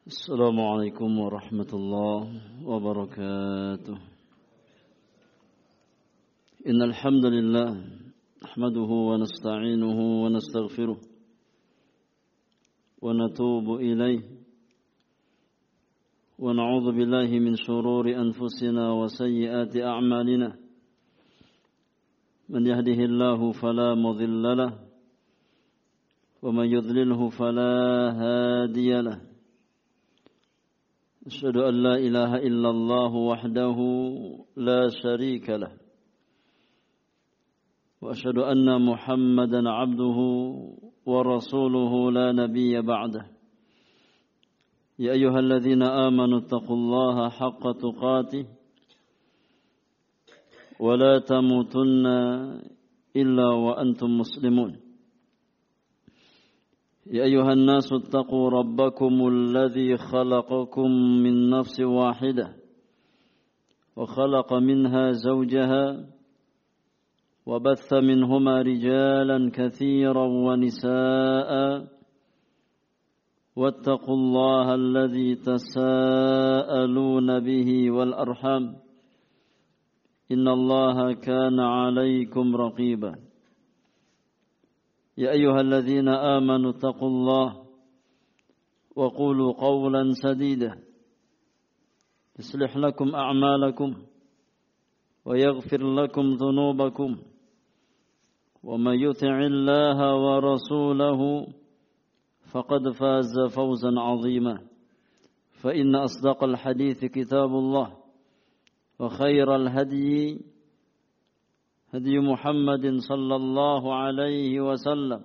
السلام عليكم ورحمة الله وبركاته. إن الحمد لله نحمده ونستعينه ونستغفره ونتوب إليه ونعوذ بالله من شرور أنفسنا وسيئات أعمالنا. من يهده الله فلا مضل له ومن يضلله فلا هادي له. أشهد أن لا إله إلا الله وحده لا شريك له وأشهد أن محمدا عبده ورسوله لا نبي بعده. يا أيها الذين آمنوا اتقوا الله حق تقاته ولا تموتن إلا وأنتم مسلمون. يا أيها الناس اتقوا ربكم الذي خلقكم من نفس واحدة وخلق منها زوجها وبث منهما رجالا كثيرا ونساء واتقوا الله الذي تساءلون به والأرحام إن الله كان عليكم رقيبا. يا أيها الذين آمنوا اتقوا الله وقولوا قولا سديدا يصلح لكم أعمالكم ويغفر لكم ذنوبكم ومن يطع الله ورسوله فقد فاز فوزا عظيما. فإن أصدق الحديث كتاب الله وخير الهدي هدي محمد صلى الله عليه وسلم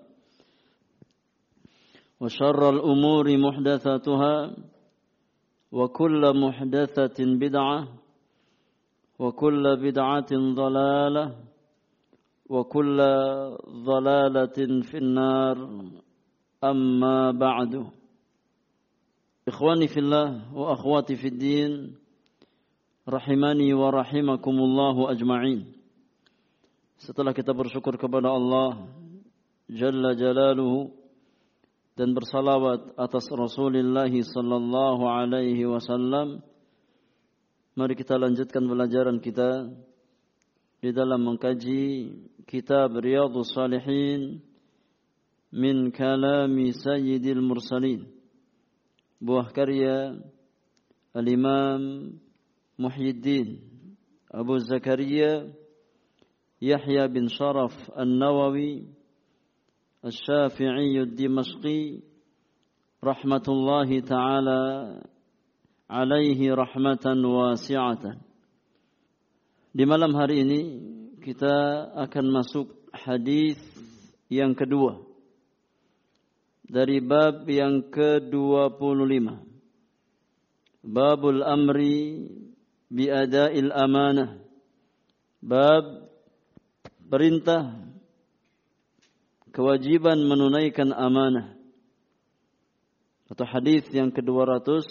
وشر الأمور محدثاتها وكل محدثة بدعة وكل بدعة ضلالة وكل ضلالة في النار. أما بعد. إخواني في الله وأخواتي في الدين rahimani wa rahimakumullahu ajma'in. Setelah kita bersyukur kepada Allah Jalla Jalaluhu dan bersalawat atas Rasulullah sallallahu alaihi wasallam, mari kita lanjutkan pelajaran kita di dalam mengkaji kitab Riyadhus Shalihin min kalami Sayyidil Mursalin, buah karya Al-Imam Muhyiddin Abu Zakaria Yahya bin Sharaf An-Nawawi Asy-Syafi'i Ad-Dimashqi rahmatullahi ta'ala alaihi rahmatan wasi'atan. Di malam hari ini kita akan masuk hadis yang kedua dari bab yang ke-25, Babul Amri biada'il amanah, bab perintah kewajiban menunaikan amanah, atau hadis yang ke-200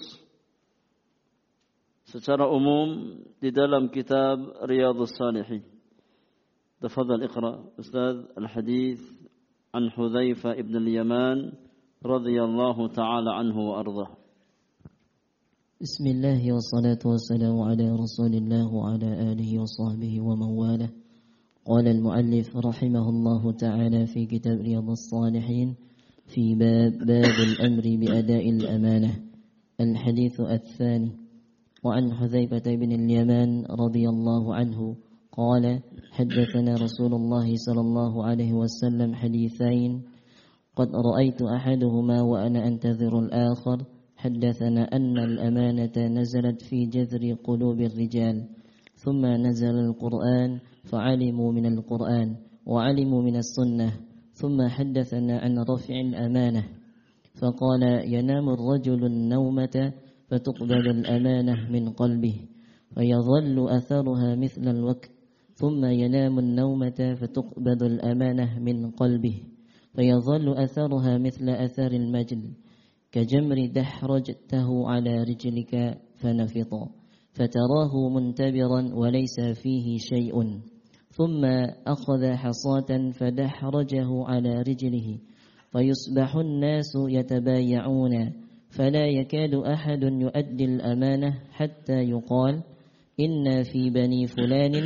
secara umum di dalam kitab Riyadhus Shalihin. Tafadhal iqra Ustaz al-hadis an Hudzaifah ibn al-Yaman radhiyallahu ta'ala anhu wa ardhah. Bismillah wassalatu wassalamu ala Rasulillah wa ala alihi wa sahbihi wa man walah. قال المؤلف رحمه الله تعالى في كتاب رياض الصالحين في باب الأمر بأداء الأمانة. الحديث الثاني. وعن حذيفة بن اليمان رضي الله عنه قال حدثنا رسول الله صلى الله عليه وسلم حديثين قد رأيت أحدهما وأنا أنتظر الآخر. حدثنا أن الأمانة نزلت في جذر قلوب الرجال ثم نزل القرآن فعلموا من القرآن وعلموا من السنة. ثم حدثنا عن رفع الأمانة فقال ينام الرجل النومة فتقبل الأمانة من قلبه فيظل أثرها مثل الوقت. ثم ينام النومة فتقبض الأمانة من قلبه فيظل أثرها مثل أثر المجل كجمر دحرجته على رجلك فنفط فتراه منتبرا وليس فيه شيء. ثم أخذ حصاة فدحرجه على رجله فيصبح الناس يتبايعون فلا يكاد أحد يؤدي الأمانة حتى يقال إن في بني فلان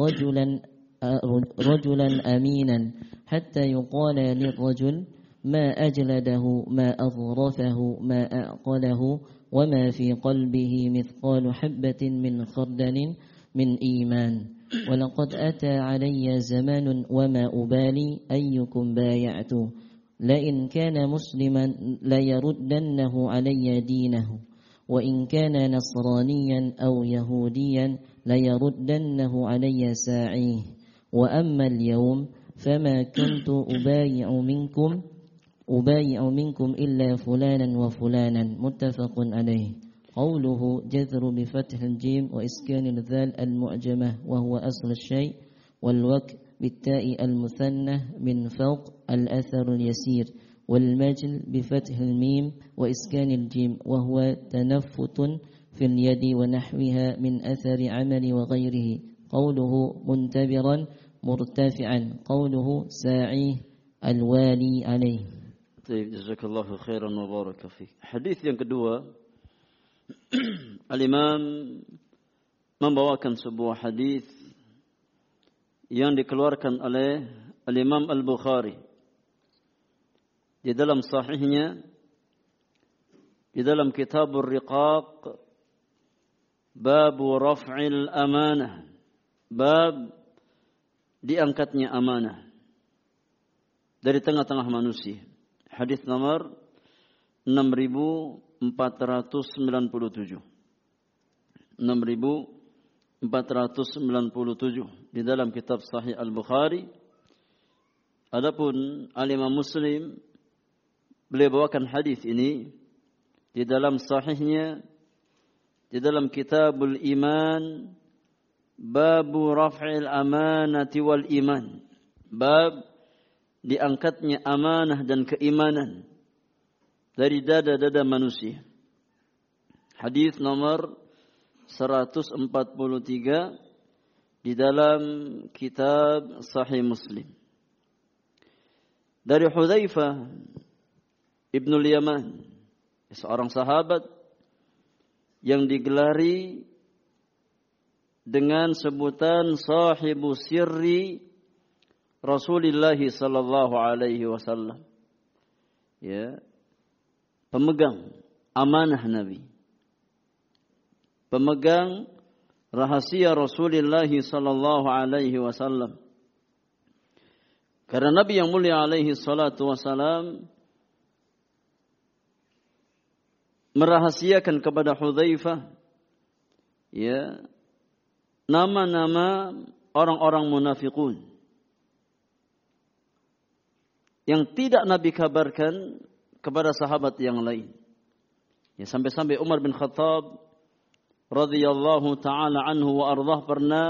رجلا أمينا، حتى يقال للرجل ما أجلده ما أظرفه ما أعقله وما في قلبه مثقال حبة من خردل من إيمان. ولقد أتى علي زمان وما أبالي أيكم بايعت، لئن كان مسلما ليردنه علي دينه، وإن كان نصرانيا أو يهوديا ليردنه علي ساعيه. وأما اليوم فما كنت أبايع منكم إلا فلانا وفلانا. متفق عليه. قوله جذر بفتح الجيم وإسكان الذال المعجمة وهو أصل الشيء، والوك بالتاء المثنى من فوق الأثر اليسير، والمجل بفتح الميم وإسكان الجيم وهو تنفت في اليد ونحوها من أثر عمل وغيره. قوله منتبرا مرتفعا. قوله ساعيه الوالي عليه. Baik, jazakallahu khairan wa baraka fiik. Hadis yang kedua, Al-Imam membawakan sebuah hadis yang dikeluarkan oleh Al-Imam Al-Bukhari di dalam sahihnya, di dalam Kitabur Riqaq, bab raf'il amanah, bab diangkatnya amanah dari tengah-tengah manusia. Hadis nomor 6497. 6497 di dalam kitab Sahih Al-Bukhari. Adapun Al-Imam Muslim, beliau bawakan hadis ini di dalam sahihnya, di dalam Kitabul Iman, babu raf'il amanati wal iman, bab diangkatnya amanah dan keimanan dari dada-dada manusia. Hadis nomor 143 di dalam kitab Sahih Muslim. Dari Hudzaifah Ibnul Yaman, seorang sahabat yang digelari dengan sebutan sahibu sirri Rasulullah sallallahu alaihi wasallam. Ya. Pemegang amanah Nabi. Pemegang rahasia Rasulullah sallallahu alaihi wasallam. Karena Nabi yang mulia alaihi salatu wasalam merahasiakan kepada Hudzaifah, ya, nama-nama orang-orang munafikun yang tidak Nabi kabarkan kepada sahabat yang lain. Ya, sampai-sampai Umar bin Khattab radhiyallahu taala anhu wa ardhah pernah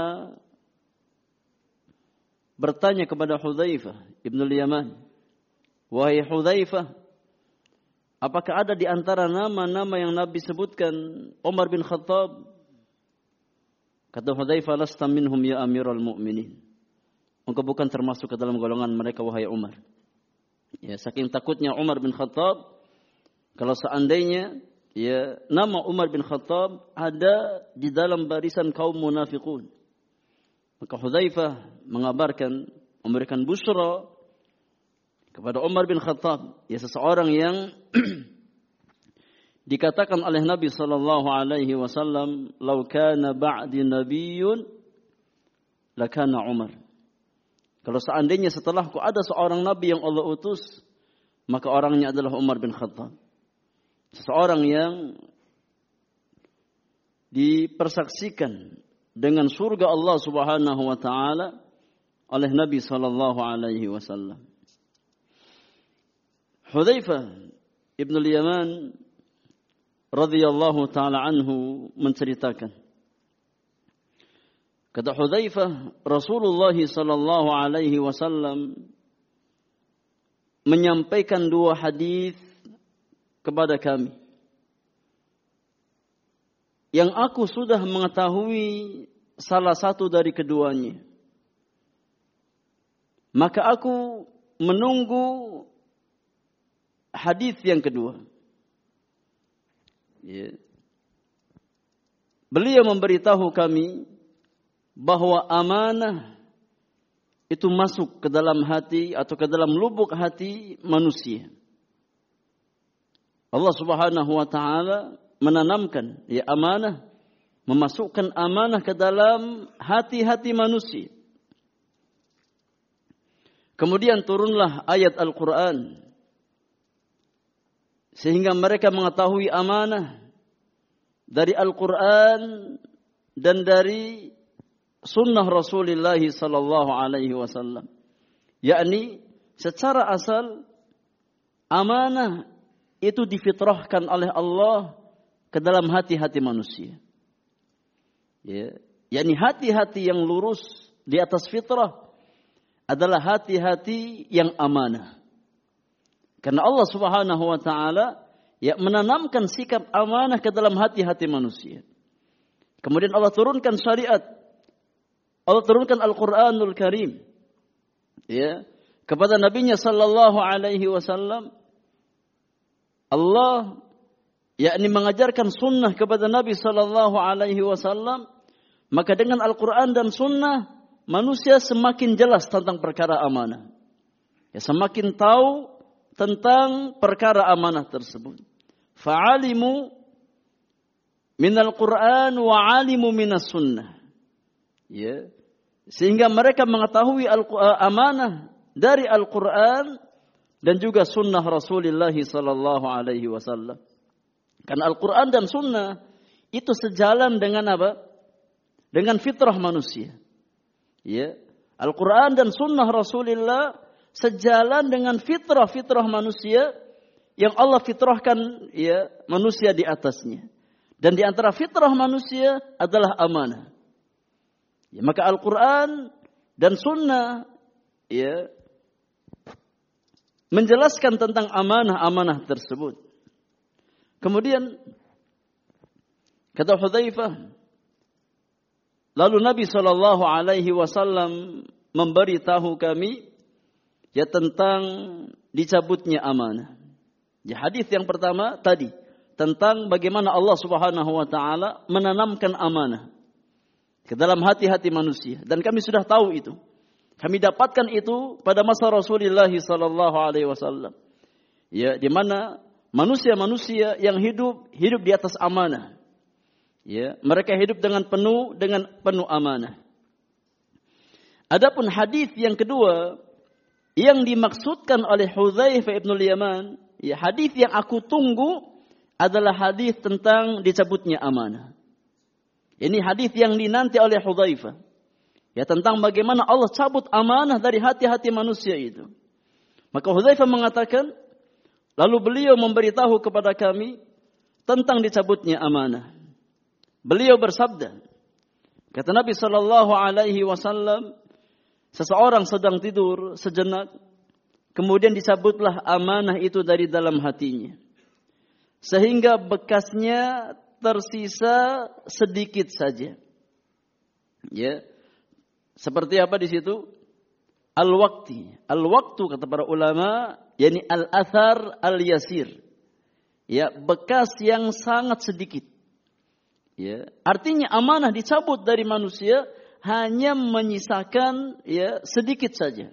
bertanya kepada Hudzaifah Ibnul Yaman, "Wahai Hudzaifah, apakah ada di antara nama-nama yang Nabi sebutkan Umar bin Khattab?" Kata Hudzaifah, "Lasta minhum ya Amirul Mukminin." Engkau bukan termasuk ke dalam golongan mereka, wahai Umar. Ya, saking takutnya Umar bin Khattab kalau seandainya ya nama Umar bin Khattab ada di dalam barisan kaum munafikun. Maka Hudzaifah mengabarkan, memberikan busyra kepada Umar bin Khattab, ya seseorang yang dikatakan oleh Nabi sallallahu alaihi wasallam, "Lau kana ba'di nabiyyun lakana Umar." Kalau seandainya setelahku ada seorang nabi yang Allah utus, maka orangnya adalah Umar bin Khattab. Seseorang yang dipersaksikan dengan surga Allah Subhanahu wa taala oleh Nabi sallallahu alaihi wasallam. Hudzaifah Ibnul Yaman radhiyallahu taala anhu menceritakan, kata Hudzaifah, Rasulullah sallallahu alaihi wasallam menyampaikan dua hadis kepada kami yang aku sudah mengetahui salah satu dari keduanya. Maka aku menunggu hadis yang kedua. Ya. Beliau memberitahu kami bahwa amanah itu masuk ke dalam hati atau ke dalam lubuk hati manusia. Allah Subhanahu wa taala menanamkan ya amanah, memasukkan amanah ke dalam hati-hati manusia. Kemudian turunlah ayat Al-Quran sehingga mereka mengetahui amanah dari Al-Quran dan dari sunnah Rasulullah sallallahu alaihi wasallam. Yakni secara asal amanah itu difitrahkan oleh Allah ke dalam hati-hati manusia. Ya, yakni hati-hati yang lurus di atas fitrah adalah hati-hati yang amanah. Karena Allah Subhanahu wa taala ya menanamkan sikap amanah ke dalam hati-hati manusia. Kemudian Allah turunkan syariat. Allah turunkan Al-Qur'anul Karim ya kepada nabinya sallallahu alaihi wasallam. Allah yakni mengajarkan sunnah kepada Nabi sallallahu alaihi wasallam, maka dengan Al-Qur'an dan sunnah manusia semakin jelas tentang perkara amanah. Ya, semakin tahu tentang perkara amanah tersebut. Fa'alimu minal Qur'an wa 'alimu minas sunnah. Ya. Sehingga mereka mengetahui amanah dari Al-Qur'an dan juga sunnah Rasulullah sallallahu alaihi wasallam. Karena Al-Qur'an dan sunnah itu sejalan dengan apa? Dengan fitrah manusia. Ya, Al-Quran dan Sunnah Rasulullah sejalan dengan fitrah manusia yang Allah fitrahkan ya manusia di atasnya. Dan di antara fitrah manusia adalah amanah. Ya, maka Al-Quran dan Sunnah ya menjelaskan tentang amanah tersebut. Kemudian kata Hudzaifah, lalu Nabi sallallahu alaihi wasallam memberitahu kami ya tentang dicabutnya amanah. Ya, hadis yang pertama tadi tentang bagaimana Allah Subhanahu wa taala menanamkan amanah ke dalam hati-hati manusia, dan kami sudah tahu itu. Kami dapatkan itu pada masa Rasulullah sallallahu alaihi wasallam. Ya, di mana manusia-manusia yang hidup di atas amanah. Ya, mereka hidup dengan penuh amanah. Adapun hadis yang kedua yang dimaksudkan oleh Hudzaifah ibn al-Yaman, ya hadis yang aku tunggu adalah hadis tentang dicabutnya amanah. Ini hadis yang dinanti oleh Hudzaifah. Ya, tentang bagaimana Allah cabut amanah dari hati-hati manusia itu. Maka Hudzaifah mengatakan, lalu beliau memberitahu kepada kami tentang dicabutnya amanah. Beliau bersabda, kata Nabi sallallahu alaihi wasallam, seseorang sedang tidur sejenak, kemudian dicabutlah amanah itu dari dalam hatinya, sehingga bekasnya tersisa sedikit saja. Ya, seperti apa di situ? Al-waktu kata para ulama, yakni al-athar al-yasir. Ya, bekas yang sangat sedikit. Ya, artinya amanah dicabut dari manusia hanya menyisakan ya sedikit saja.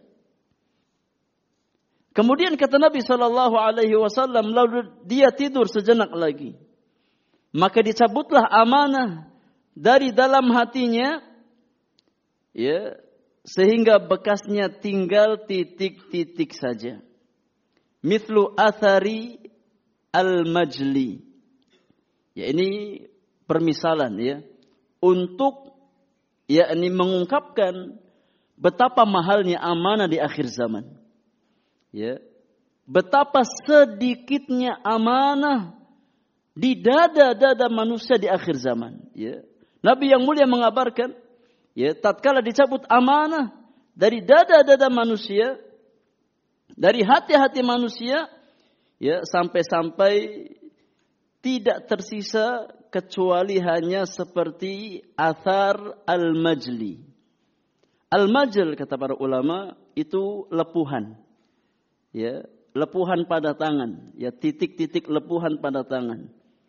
Kemudian kata Nabi sallallahu alaihi wasallam, lalu dia tidur sejenak lagi, maka dicabutlah amanah dari dalam hatinya, ya, sehingga bekasnya tinggal titik-titik saja. Mithlu athari al-majli. Ya, ini permisalan ya untuk yakni mengungkapkan betapa mahalnya amanah di akhir zaman. Ya. Betapa sedikitnya amanah di dada-dada manusia di akhir zaman, ya. Nabi yang mulia mengabarkan, ya, tatkala dicabut amanah dari dada-dada manusia, dari hati-hati manusia, ya, sampai-sampai tidak tersisa kecuali hanya seperti athar al-majli. Al-majl kata para ulama itu lepuhan. Ya, lepuhan pada tangan, ya, titik-titik lepuhan pada tangan.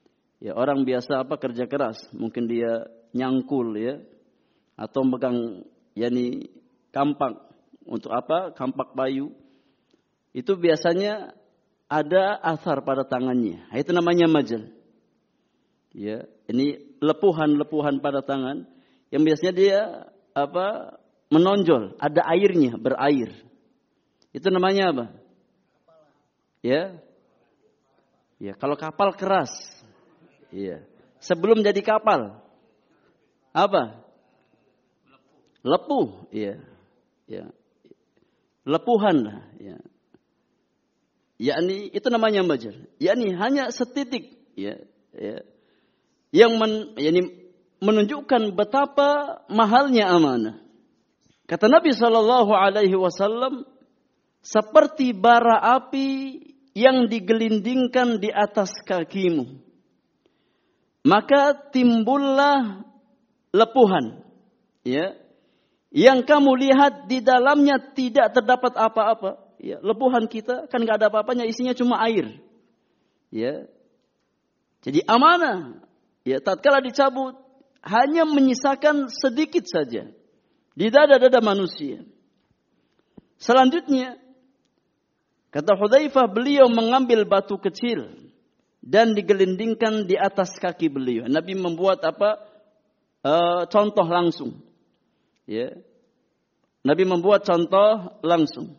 Ya, orang biasa kerja keras, mungkin dia nyangkul ya atau megang kampak. Untuk apa? Kampak bayu. Itu biasanya ada asar pada tangannya. Itu namanya majal. Ya, ini lepuhan-lepuhan pada tangan yang biasanya dia menonjol, ada airnya, berair. Itu namanya apa? Ya. Ya, kalau kapal keras. Iya. Sebelum jadi kapal. Apa? Lepuh, iya. Ya. Lepuhan lah, ya. Yakni itu namanya majal. Yakni hanya setitik, ya, ya. Yang menunjukkan betapa mahalnya amanah. Kata Nabi SAW, seperti bara api yang digelindingkan di atas kakimu. Maka timbullah lepuhan. Ya. Yang kamu lihat di dalamnya tidak terdapat apa-apa. Ya. Lepuhan kita kan gak ada apa-apanya, isinya cuma air. Ya. Jadi amanah. Ya, tatkala dicabut, hanya menyisakan sedikit saja di dada-dada manusia. Selanjutnya, kata Hudzaifah, beliau mengambil batu kecil dan digelindingkan di atas kaki beliau. Nabi membuat contoh langsung. Ya. Nabi membuat contoh langsung.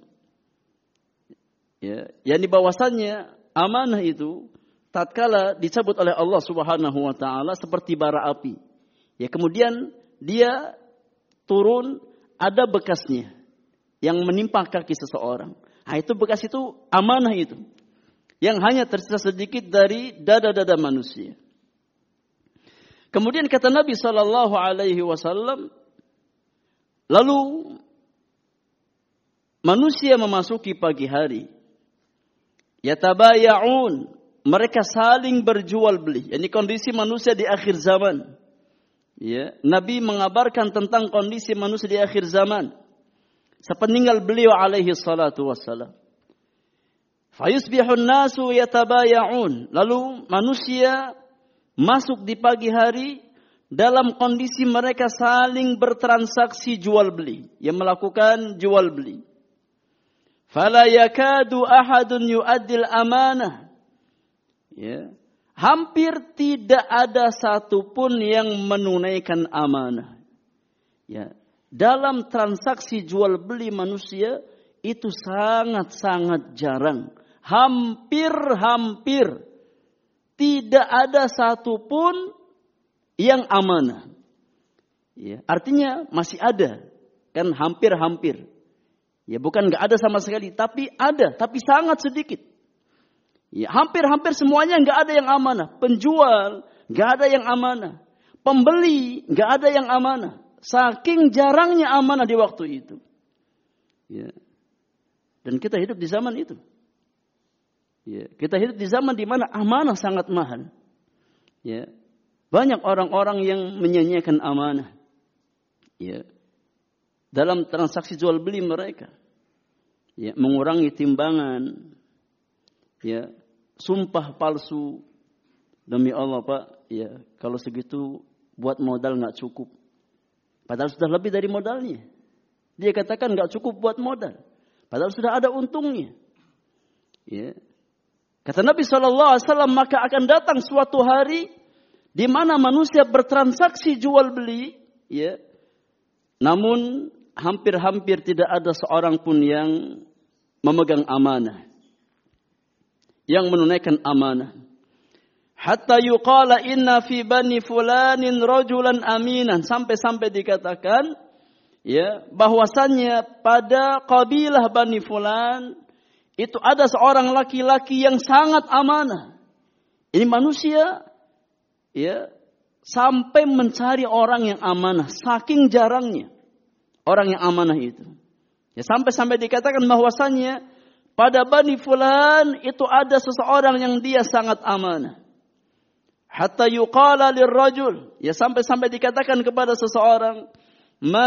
Ya, yakni bahwasannya amanah itu tatkala dicabut oleh Allah Subhanahu wa taala seperti bara api. Ya, kemudian dia turun, ada bekasnya yang menimpa kaki seseorang. Nah, itu bekas itu amanah itu. Yang hanya tersisa sedikit dari dada-dada manusia. Kemudian kata Nabi SAW, lalu manusia memasuki pagi hari. Yatabaya'un, mereka saling berjual beli. Ini kondisi manusia di akhir zaman. Ya, Nabi mengabarkan tentang kondisi manusia di akhir zaman. Sepeninggal beliau alaihi salatu wassalam. Fayusbihun nasu yatabaya'un. Lalu manusia masuk di pagi hari dalam kondisi mereka saling bertransaksi jual beli. Yang melakukan jual beli. Fala yakadu ahadun yu'addil amanah. Ya. Hampir tidak ada satupun yang menunaikan amanah. Ya. Dalam transaksi jual beli manusia itu sangat-sangat jarang. Hampir-hampir tidak ada satupun yang amanah. Ya. Artinya masih ada. Kan hampir-hampir. Ya, bukan nggak ada sama sekali, tapi ada, tapi sangat sedikit. Ya, hampir-hampir semuanya nggak ada yang amanah. Penjual nggak ada yang amanah. Pembeli nggak ada yang amanah. Saking jarangnya amanah di waktu itu. Ya. Dan kita hidup di zaman itu. Ya. Kita hidup di zaman di mana amanah sangat mahal. Ya. Banyak orang-orang yang menyanyiakan amanah. Ya. Dalam transaksi jual beli mereka. Ya. Mengurangi timbangan. Ya. Sumpah palsu. Demi Allah Pak, ya kalau segitu buat modal nggak cukup. Padahal sudah lebih dari modalnya. Dia katakan nggak cukup buat modal. Padahal sudah ada untungnya. Ya. Kata Nabi SAW, maka akan datang suatu hari di mana manusia bertransaksi jual beli. Ya. Namun hampir-hampir tidak ada seorang pun yang memegang amanah. Yang menunaikan amanah. Hatta yuqala inna fi bani fulanin rajulan aminan. Sampai-sampai dikatakan ya bahwasannya pada kabilah Bani Fulan itu ada seorang laki-laki yang sangat amanah. Ini manusia ya sampai mencari orang yang amanah, saking jarangnya orang yang amanah itu. Ya sampai-sampai dikatakan bahwasannya pada Bani Fulan itu ada seseorang yang dia sangat amanah. Hatta yuqala lirrajul, ya sampai-sampai dikatakan kepada seseorang, ma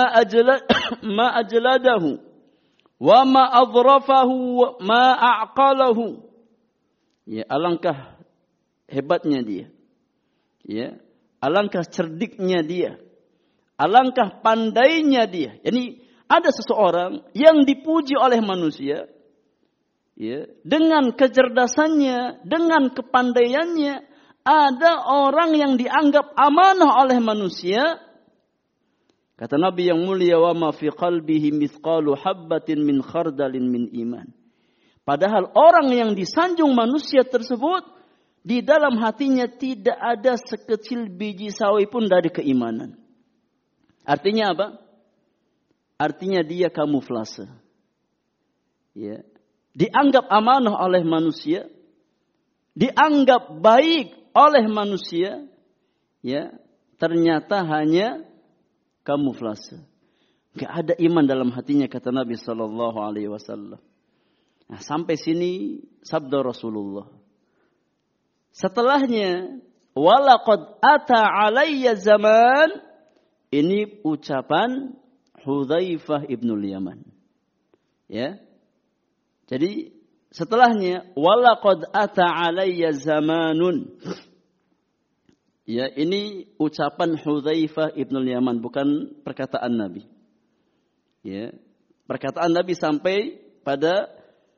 ajladahu wa ma adhrafahu ma a'qalahu. Ya alangkah hebatnya dia. Ya, alangkah cerdiknya dia. Alangkah pandainya dia. Yani ada seseorang yang dipuji oleh manusia, ya, dengan kecerdasannya, dengan kepandaiannya. Ada orang yang dianggap amanah oleh manusia. Kata Nabi yang mulia, wa ma fi qalbihi mithqalu habbatin min khardalin min iman. Padahal orang yang disanjung manusia tersebut, di dalam hatinya tidak ada sekecil biji sawi pun dari keimanan. Artinya apa? Artinya dia kamuflase. Ya. Dianggap amanah oleh manusia, dianggap baik oleh manusia, ya, ternyata hanya kamuflase. Enggak ada iman dalam hatinya, kata Nabi sallallahu alaihi wasallam. Nah, sampai sini sabda Rasulullah. Setelahnya, walaqad ata alayya zaman, ini ucapan Hudzaifah ibnul Yaman. Ya. Jadi setelahnya walaqad ata alayya zamanun. Ya, ini ucapan Hudzaifah ibnul Yaman, bukan perkataan Nabi. Ya. Perkataan Nabi sampai pada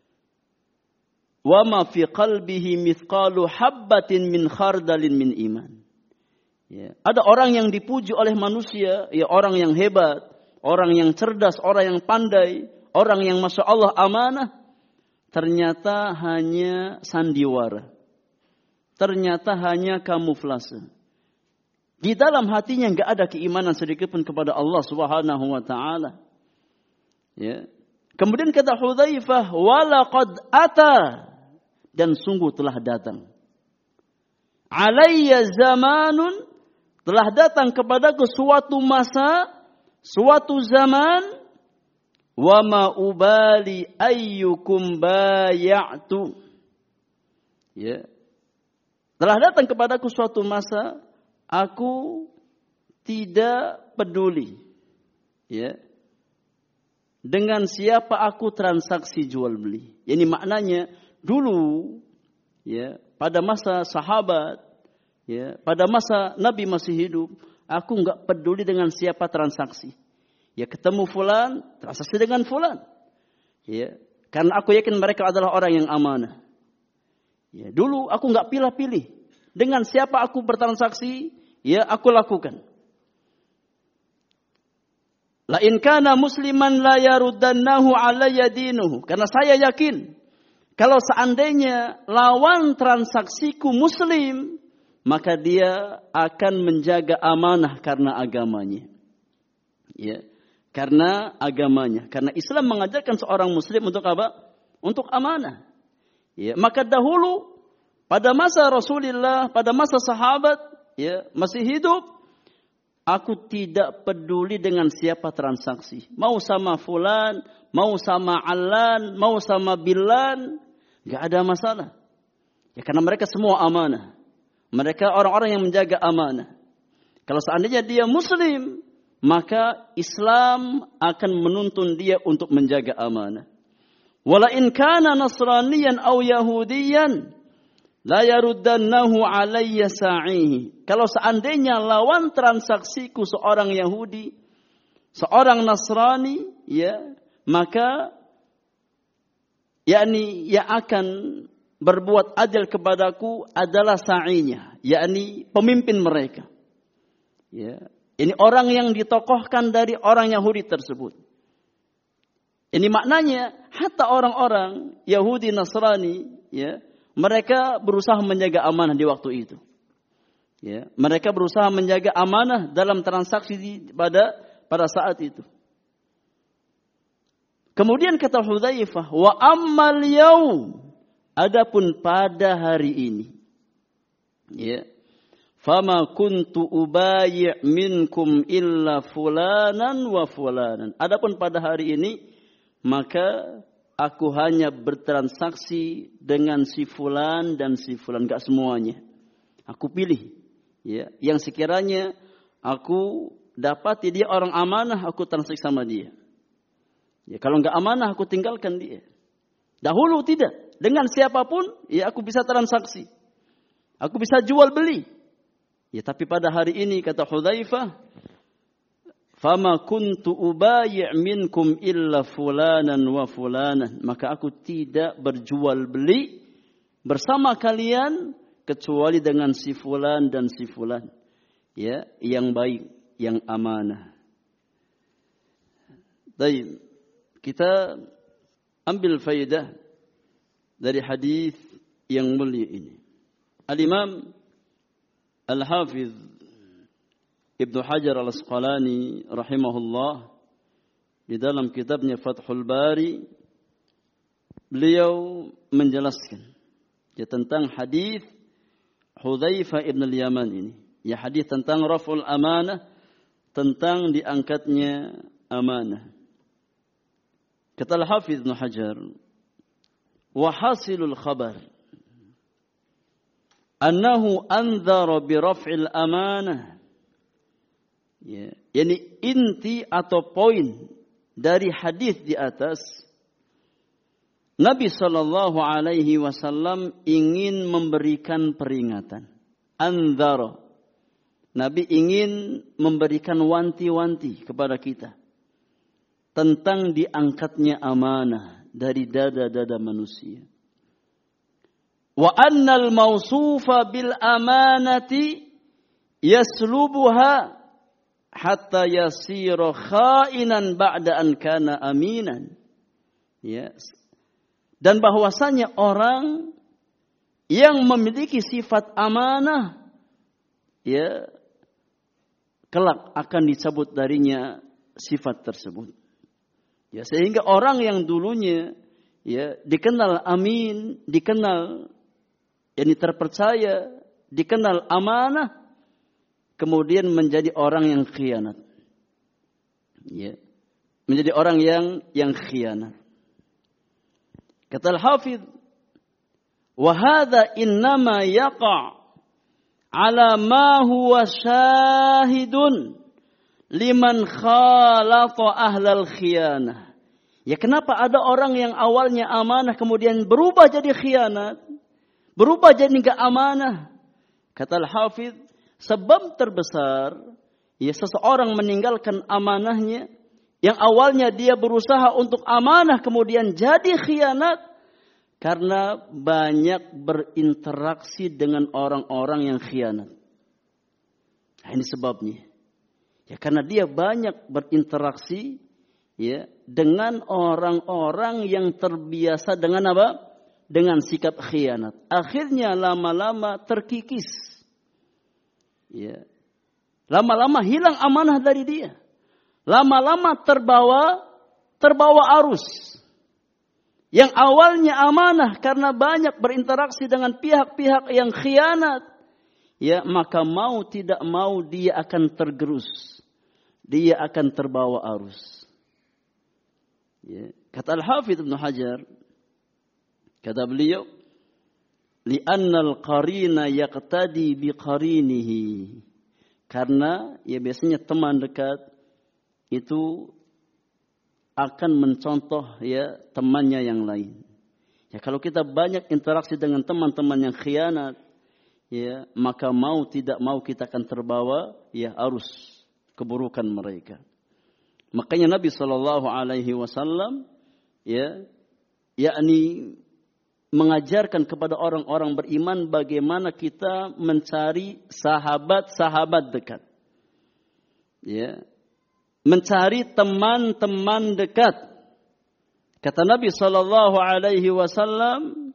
wa ma fi qalbihi mithqalu habbatin min khardalin min iman. Ya. Ada orang yang dipuji oleh manusia, ya, orang yang hebat, orang yang cerdas, orang yang pandai, orang yang masya Allah amanah, ternyata hanya sandiwara, ternyata hanya kamuflase. Di dalam hatinya enggak ada keimanan sedikit pun kepada Allah Subhanahu wa taala. Ya. Kemudian kata Hudzaifah, walaqad ata, dan sungguh telah datang. Alayya zamanun, telah datang kepadaku suatu masa, suatu zaman, wa ma ubali ayyukum bay'atu. Ya. Telah datang kepadaku suatu masa, aku tidak peduli, ya, dengan siapa aku transaksi jual beli. Ini maknanya dulu, ya, pada masa sahabat, ya, pada masa Nabi masih hidup, aku enggak peduli dengan siapa transaksi. Ya, ketemu fulan, transaksi dengan fulan. Ya, karena aku yakin mereka adalah orang yang amanah. Ya, dulu aku enggak pilih-pilih dengan siapa aku bertransaksi, ya, aku lakukan. La in kana musliman la yaruddannahu alayya dinuhu. Karena saya yakin kalau seandainya lawan transaksiku muslim, maka dia akan menjaga amanah karena agamanya. Ya, karena agamanya. Karena Islam mengajarkan seorang muslim untuk apa? Untuk amanah. Ya, maka dahulu pada masa Rasulullah, pada masa sahabat, ya, masih hidup, aku tidak peduli dengan siapa transaksi. Mau sama fulan, mau sama Alan, mau sama Bilan, enggak ada masalah. Ya, karena mereka semua amanah. Mereka orang-orang yang menjaga amanah. Kalau seandainya dia muslim, maka Islam akan menuntun dia untuk menjaga amanah. Wala in kana nasraniyan aw yahudiyan la yaruddannahu alayya sa'ihi. Kalau seandainya lawan transaksiku seorang Yahudi, seorang Nasrani, ya, maka yakni yang akan berbuat adil kepadaku adalah sa'inya, yakni pemimpin mereka. Ya, ini orang yang ditokohkan dari orang Yahudi tersebut. Ini maknanya hatta orang-orang Yahudi Nasrani, ya, mereka berusaha menjaga amanah di waktu itu. Ya, mereka berusaha menjaga amanah dalam transaksi pada saat itu. Kemudian kata Hudzaifah, wa ammal yaum, adapun pada hari ini, ya, fama kuntu ubayyi' minkum illa fulanan wa fulanan. Adapun pada hari ini, maka aku hanya bertransaksi dengan si fulan dan si fulan, enggak semuanya. Aku pilih, ya, yang sekiranya aku dapati dia orang amanah, aku transaksi sama dia. Ya, kalau enggak amanah, aku tinggalkan dia. Dahulu tidak, dengan siapapun, ya, aku bisa transaksi, aku bisa jual beli. Ya, tapi pada hari ini kata Hudzaifah, "Fama kuntu ubayyi' minkum illa fulanan wa fulanan." Maka aku tidak berjual beli bersama kalian kecuali dengan si fulan dan si fulan. Ya, yang baik, yang amanah. Baik, kita ambil faedah dari hadis yang mulia ini. Al-Imam Al-Hafiz Ibnu Hajar Al-Asqalani rahimahullah di dalam kitabnya Fathul Bari, beliau menjelaskan tentang hadis Hudzaifah ibn al-Yaman ini. Ya, hadis tentang raf'ul amanah, tentang diangkatnya amanah. Kata Al-Hafiz Ibnu Hajar, wa hasilul khabar annahu anzara bi raf'il amanah. Ya, yani inti atau poin dari hadis di atas, Nabi sallallahu alaihi wasallam ingin memberikan peringatan. Anzara. Nabi ingin memberikan wanti-wanti kepada kita tentang diangkatnya amanah dari dada-dada manusia. Wa annal mausufa bil amanati yaslubuha hatta yasira khainan ba'da an kana aminan. Yes. Dan bahwasanya orang yang memiliki sifat amanah, ya, kelak akan dicabut darinya sifat tersebut. Ya, sehingga orang yang dulunya ya dikenal amin, dikenal yakni terpercaya, dikenal amanah, kemudian menjadi orang yang khianat. Ya. Menjadi orang yang khianat. Kata Al-Hafidh, wa hadza innama yaqa' ala ma huwa syahidun liman khalata ahlal khianah. Ya, kenapa ada orang yang awalnya amanah kemudian berubah jadi khianat? Berubah jadi enggak amanah? Kata Al-Hafidh, sebab terbesar ya seseorang meninggalkan amanahnya, yang awalnya dia berusaha untuk amanah kemudian jadi khianat, karena banyak berinteraksi dengan orang-orang yang khianat. Nah, ini sebabnya. Ya, karena dia banyak berinteraksi ya dengan orang-orang yang terbiasa dengan apa? Dengan sikap khianat. Akhirnya lama-lama terkikis. Ya. Lama-lama hilang amanah dari dia. Lama-lama terbawa arus. Yang awalnya amanah karena banyak berinteraksi dengan pihak-pihak yang khianat, ya, maka mau tidak mau dia akan tergerus. Dia akan terbawa arus. Ya. Kata Al-Hafidh Ibnu Hajar, kata beliau, li'annal qarina yaqtadi biqarinihi. Karena ya biasanya teman dekat itu akan mencontoh ya temannya yang lain. Ya, kalau kita banyak interaksi dengan teman-teman yang khianat, ya, maka mau tidak mau kita akan terbawa ya arus keburukan mereka. Makanya Nabi sallallahu alaihi wasallam ya yakni mengajarkan kepada orang-orang beriman bagaimana kita mencari sahabat-sahabat dekat. Ya. Mencari teman-teman dekat. Kata Nabi sallallahu alaihi wasallam,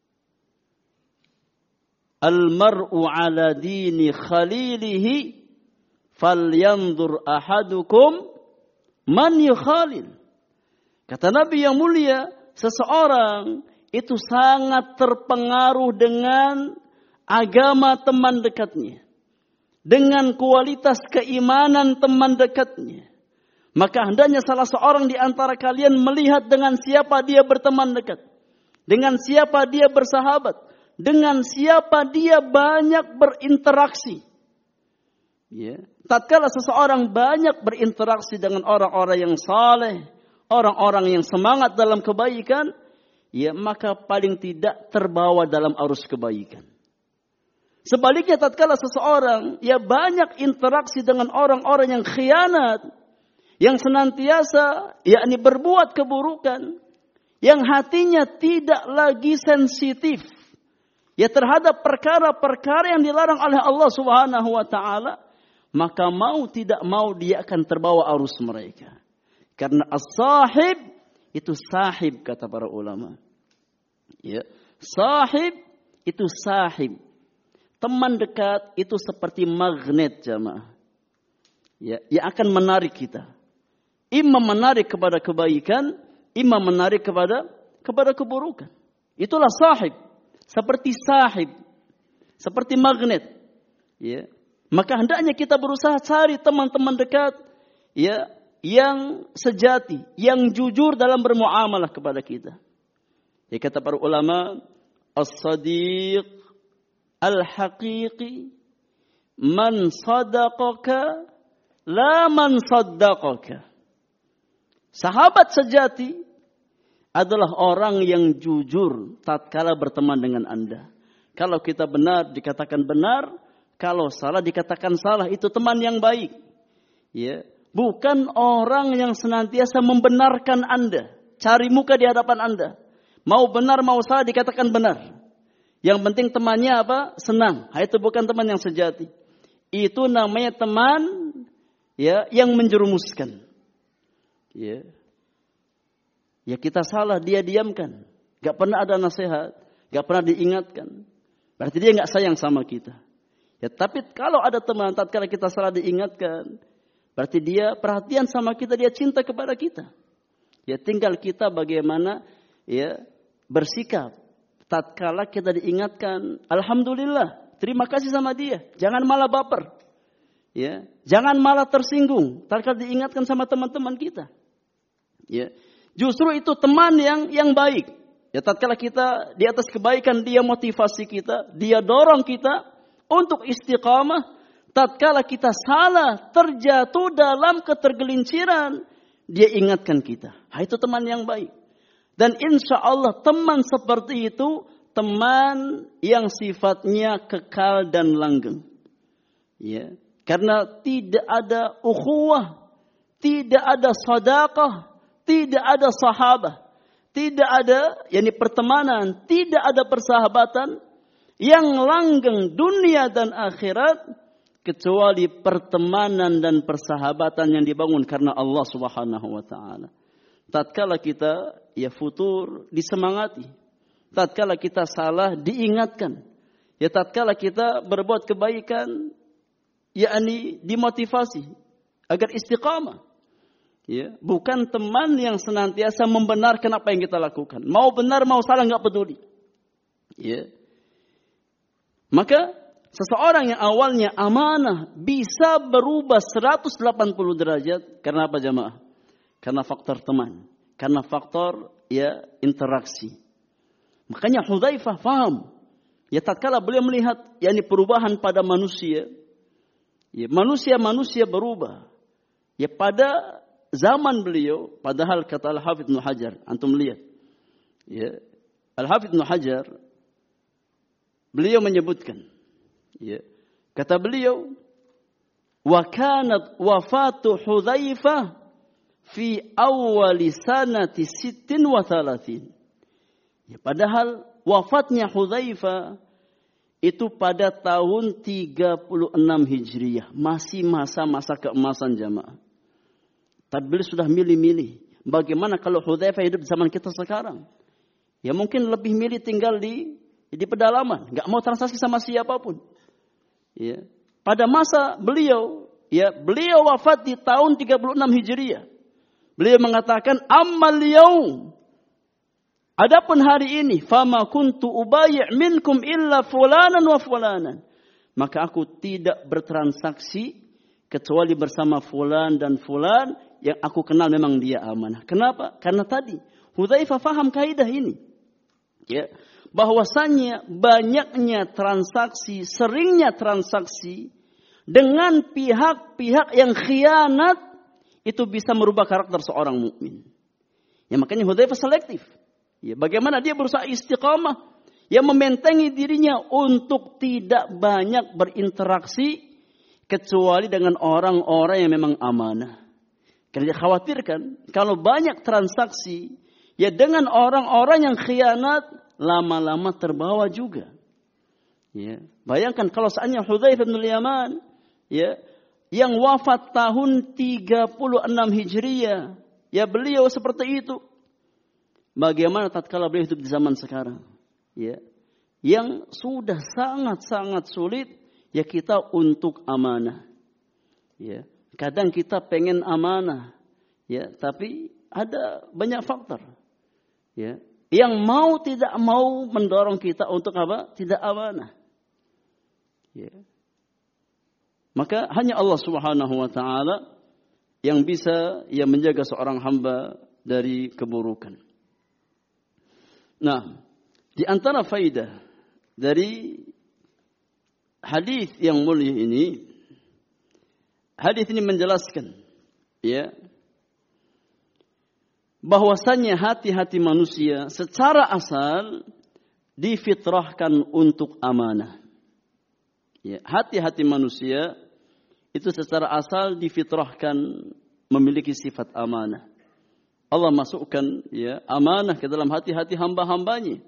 "Al-mar'u 'ala dini khalilihi falyanzur ahadukum man yukhalil." Kata Nabi yang mulia, seseorang itu sangat terpengaruh dengan agama teman dekatnya, dengan kualitas keimanan teman dekatnya. Maka hendaknya salah seorang di antara kalian melihat dengan siapa dia berteman dekat, dengan siapa dia bersahabat, dengan siapa dia banyak berinteraksi. Ya. Tatkala seseorang banyak berinteraksi dengan orang-orang yang saleh, orang-orang yang semangat dalam kebaikan, ya, maka paling tidak terbawa dalam arus kebaikan. Sebaliknya tatkala seseorang banyak interaksi dengan orang-orang yang khianat, yang senantiasa yakni berbuat keburukan, yang hatinya tidak lagi sensitif terhadap perkara-perkara yang dilarang oleh Allah Subhanahu wa taala, maka mau tidak mau dia akan terbawa arus mereka. Karena as-sahib itu sahib, kata para ulama. Sahib itu sahib. Teman dekat itu seperti magnet, jamaah. Yang akan menarik kita. Imma menarik kepada kebaikan, imma menarik kepada keburukan. Itulah sahib. Seperti sahib. Seperti magnet. Maka hendaknya kita berusaha cari teman-teman dekat yang sejati, yang jujur dalam bermuamalah kepada kita. Kata para ulama, as-sadiq al-haqiqi man sadaqaka la man saddaqaka. Sahabat sejati adalah orang yang jujur tatkala berteman dengan Anda. Kalau kita benar dikatakan benar, kalau salah dikatakan salah, itu teman yang baik. Bukan orang yang senantiasa membenarkan Anda, cari muka di hadapan Anda. Mau benar mau salah dikatakan benar. Yang penting temannya senang. Itu bukan teman yang sejati. Itu namanya teman yang menjerumuskan. Kita salah, dia diamkan. Gak pernah ada nasihat, gak pernah diingatkan. Berarti dia gak sayang sama kita. Tapi kalau ada teman tatkala kita salah diingatkan, berarti dia perhatian sama kita, dia cinta kepada kita. Tinggal kita bagaimana bersikap. Tatkala kita diingatkan, alhamdulillah, terima kasih sama dia. Jangan malah baper. Jangan malah tersinggung tatkala diingatkan sama teman-teman kita. Justru itu teman yang baik. Tatkala kita di atas kebaikan, dia motivasi kita, dia dorong kita untuk istiqamah. Tatkala kita salah, terjatuh dalam ketergelinciran, dia ingatkan kita. Itu teman yang baik. Dan insya Allah teman seperti itu, teman yang sifatnya kekal dan langgeng. Karena tidak ada ukhuwah, tidak ada sadaqah, tidak ada sahabah, tidak ada pertemanan, tidak ada persahabatan yang langgeng dunia dan akhirat, kecuali pertemanan dan persahabatan yang dibangun karena Allah Subhanahu wa taala. Tatkala kita futur disemangati, tatkala kita salah diingatkan, tatkala kita berbuat kebaikan dimotivasi agar istiqamah. Bukan teman yang senantiasa membenarkan apa yang kita lakukan. Mau benar mau salah enggak peduli. Maka seseorang yang awalnya amanah bisa berubah 180 derajat karena apa, jamaah? Karena faktor teman, karena faktor interaksi. Makanya Hudzaifah faham. Tatkala beliau melihat perubahan pada manusia, manusia berubah. Pada zaman beliau, padahal kata Al-Hafidz Ibnu Hajar, antum lihat. Al-Hafidz Ibnu Hajar beliau menyebutkan, kata beliau, wa kanat wafatu Hudzaifah fi awwali sanati 36. Padahal wafatnya Hudzaifah itu pada tahun 36 Hijriah, masih masa-masa keemasan, jamaah. Tapi beliau sudah milih-milih. Bagaimana kalau Hudzaifah hidup di zaman kita sekarang? Mungkin lebih milih tinggal di pedalaman, enggak mau transaksi sama siapapun. Pada masa beliau, beliau wafat di tahun 36 Hijriah. Beliau mengatakan, ammal yaum, adapun hari ini, fama kuntu ubayyi' minkum illa fulanan wa fulanan. Maka aku tidak bertransaksi kecuali bersama fulan dan fulan yang aku kenal memang dia amanah. Kenapa? Karena tadi Hudzaifah faham kaidah ini. Bahwasanya banyaknya transaksi, seringnya transaksi dengan pihak-pihak yang khianat itu bisa merubah karakter seorang mukmin. Makanya Hudzaifah selektif. Bagaimana dia berusaha istiqamah. yang membentengi dirinya untuk tidak banyak berinteraksi kecuali dengan orang-orang yang memang amanah. Karena dia khawatirkan kalau banyak transaksi ya dengan orang-orang yang khianat, lama-lama terbawa juga. Ya, bayangkan kalau seandainya Hudzaifah bin Yaman ya yang wafat tahun 36 Hijriah, ya beliau seperti itu. Bagaimana tatkala beliau hidup di zaman sekarang? Ya, yang sudah sangat-sangat sulit ya kita untuk amanah. Ya, kadang kita pengen amanah, ya, tapi ada banyak faktor. Ya, yang mau tidak mau mendorong kita untuk apa? Tidak amanah. Ya. Maka hanya Allah Subhanahu wa taala yang bisa ya menjaga seorang hamba dari keburukan. Nah, di antara faidah dari hadis yang mulia ini, hadis ini menjelaskan ya bahwasanya hati-hati manusia secara asal difitrahkan untuk amanah. Ya, hati-hati manusia itu secara asal difitrahkan memiliki sifat amanah. Allah masukkan ya amanah ke dalam hati-hati hamba-hambanya.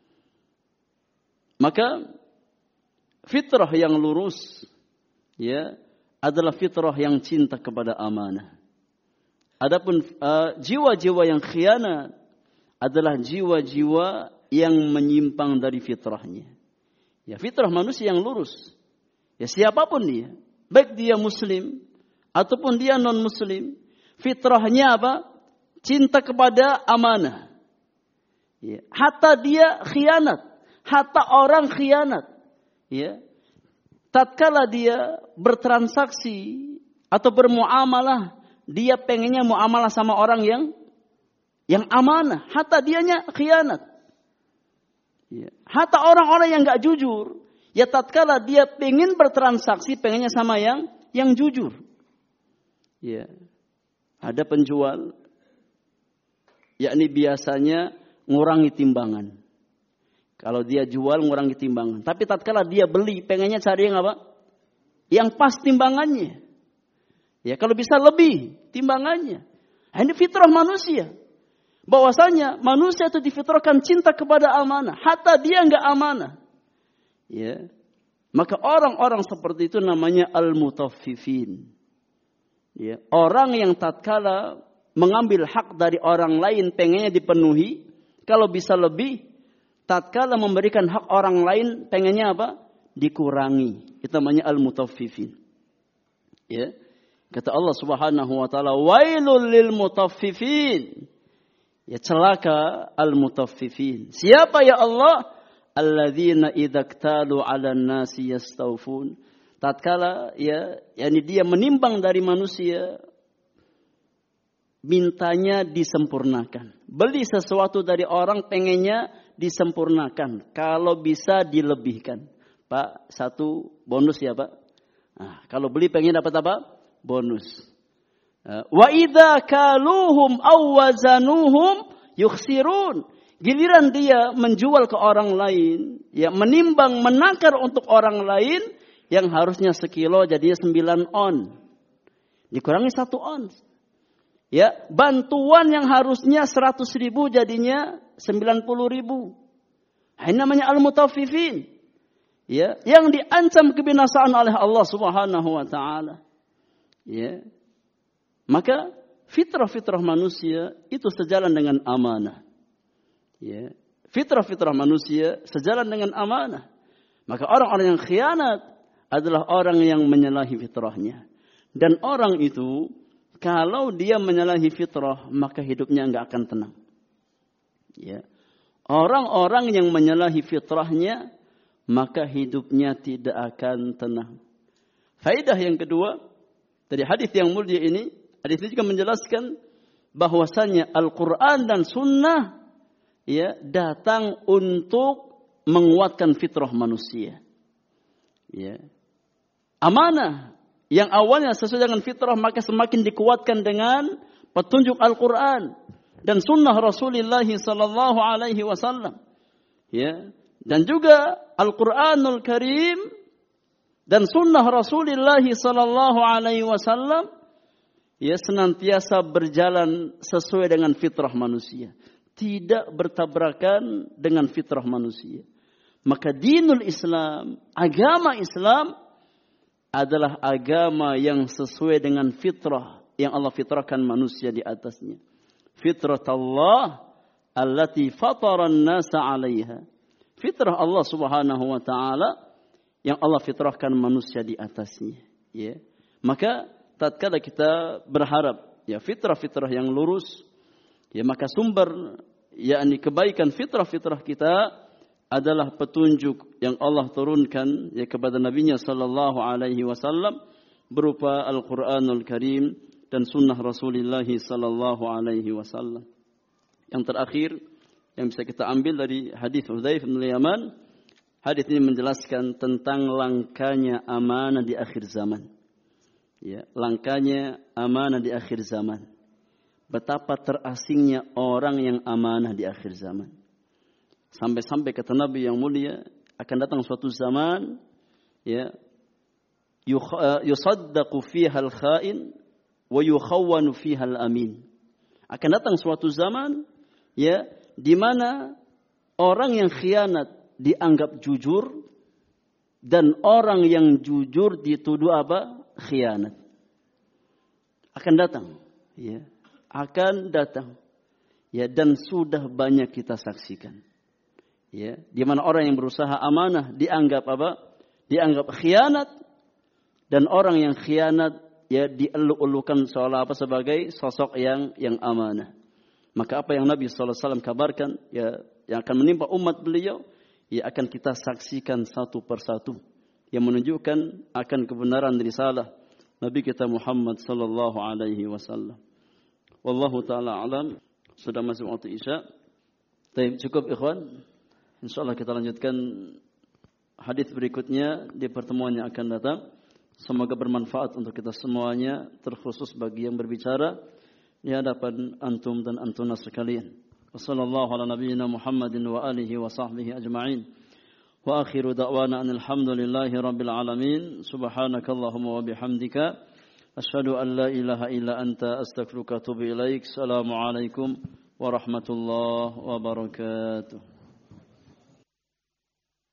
Maka fitrah yang lurus ya adalah fitrah yang cinta kepada amanah. Adapun jiwa-jiwa yang khianat adalah jiwa-jiwa yang menyimpang dari fitrahnya. Ya, fitrah manusia yang lurus. Ya, siapapun dia, baik dia muslim ataupun dia non-muslim, fitrahnya apa? Cinta kepada amanah. Ya, hatta dia khianat, hatta orang khianat. Ya, tatkala dia bertransaksi atau bermuamalah, dia pengennya muamalah sama orang yang amanah, hatta dianya khianat. Ya, hatta orang-orang yang enggak jujur, ya tatkala dia pengen bertransaksi, pengennya sama yang jujur. Ya, ada penjual, yakni biasanya ngurangi timbangan. Kalau dia jual ngurangi timbangan. Tapi tatkala dia beli, pengennya cari yang apa? Yang pas timbangannya. Ya, kalau bisa lebih timbangannya. Nah, ini fitrah manusia. Bahwasanya manusia itu difitrahkan cinta kepada amanah, hatta dia enggak amanah. Ya. Maka orang-orang seperti itu namanya al-mutaffifin. Ya, orang yang tatkala mengambil hak dari orang lain pengennya dipenuhi, kalau bisa lebih, tatkala memberikan hak orang lain pengennya apa? Dikurangi. Itu namanya al-mutaffifin. Ya. Kata Allah Subhanahu wa taala, "Wailul lil mutaffifin." Ya, celaka al-mutaffifin. Siapa ya Allah? Alladzina idza iktalu 'alan nasi yastawfun. Tatkala ya, yakni dia menimbang dari manusia, mintanya disempurnakan. Beli sesuatu dari orang pengennya disempurnakan. Kalau bisa dilebihkan. Pak, satu bonus ya Pak. Nah, kalau beli pengen dapat apa? Bonus. Wa idza kaluhum aw wazanuhum yukhsirun. Giliran dia menjual ke orang lain, ya menimbang menakar untuk orang lain yang harusnya sekilo jadinya 9 on. Dikurangi 1 on. Ya, bantuan yang harusnya 100.000 jadinya 90.000. Ini namanya al-mutaffifin. Ya, yang diancam kebinasaan oleh Allah Subhanahu wa taala. Ya. Maka fitrah-fitrah manusia itu sejalan dengan amanah. Ya. Fitrah-fitrah manusia sejalan dengan amanah. Maka orang-orang yang khianat adalah orang yang menyalahi fitrahnya. Dan orang itu kalau dia menyalahi fitrah, maka hidupnya enggak akan tenang. Ya. Orang-orang yang menyalahi fitrahnya, maka hidupnya tidak akan tenang. Faedah yang kedua dari hadis yang mulia ini, hadis ini juga menjelaskan bahwasanya Al-Quran dan Sunnah ya datang untuk menguatkan fitrah manusia. Ya. Amanah yang awalnya sesuai dengan fitrah maka semakin dikuatkan dengan petunjuk Al-Quran dan Sunnah Rasulullah sallallahu alaihi wasallam. Ya. Dan juga Al-Quranul Karim dan sunnah Rasulullah sallallahu alaihi wasallam ya senantiasa berjalan sesuai dengan fitrah manusia, tidak bertabrakan dengan fitrah manusia. Maka dinul Islam, agama Islam adalah agama yang sesuai dengan fitrah yang Allah fitrahkan manusia di atasnya. Fitratullah allati fataran nasa 'alaiha. Fitrah Allah Subhanahu wa taala yang Allah fitrahkan manusia di atasnya, ya. Maka tatkala kita berharap ya fitrah-fitrah yang lurus, ya maka sumber yakni kebaikan fitrah-fitrah kita adalah petunjuk yang Allah turunkan ya kepada Nabi-Nya sallallahu alaihi wasallam berupa Al-Qur'anul Karim dan sunnah Rasulullah sallallahu alaihi wasallam. Yang terakhir yang bisa kita ambil dari hadis Hudzaifah bin Yaman, hadis ini menjelaskan tentang langkanya amanah di akhir zaman. Ya, langkanya amanah di akhir zaman. Betapa terasingnya orang yang amanah di akhir zaman. Sampai-sampai kata Nabi yang mulia, akan datang suatu zaman ya yusaddaqu fiha al-kha'in wa yukhawwanu fiha al-amin. Akan datang suatu zaman ya di mana orang yang khianat dianggap jujur dan orang yang jujur dituduh apa? Khianat. Akan datang ya, akan datang ya, dan sudah banyak kita saksikan. Ya, di mana orang yang berusaha amanah dianggap apa? Dianggap khianat, dan orang yang khianat ya dieluk-elukan seolah apa sebagai sosok yang amanah. Maka apa yang Nabi sallallahu alaihi wasallam kabarkan ya yang akan menimpa umat beliau ya akan kita saksikan satu persatu yang menunjukkan akan kebenaran risalah Nabi kita Muhammad sallallahu alaihi wasallam. Wallahu taala alam. Sudah masuk waktu Isya. Baik, cukup ikhwan. Insyaallah kita lanjutkan hadis berikutnya di pertemuan yang akan datang. Semoga bermanfaat untuk kita semuanya, terkhusus bagi yang berbicara di hadapan antum dan antuna sekalian. Wassallallahu ala nabiyyina Muhammadin wa alihi wa sahbihi ajma'in. Wa akhiru da'wana alhamdulillahi rabbil alamin. Subhanakallahumma wa bihamdika asyhadu an la ilaha illa anta astaghfiruka wa atubu ilaik. Assalamualaikum warahmatullahi wabarakatuh.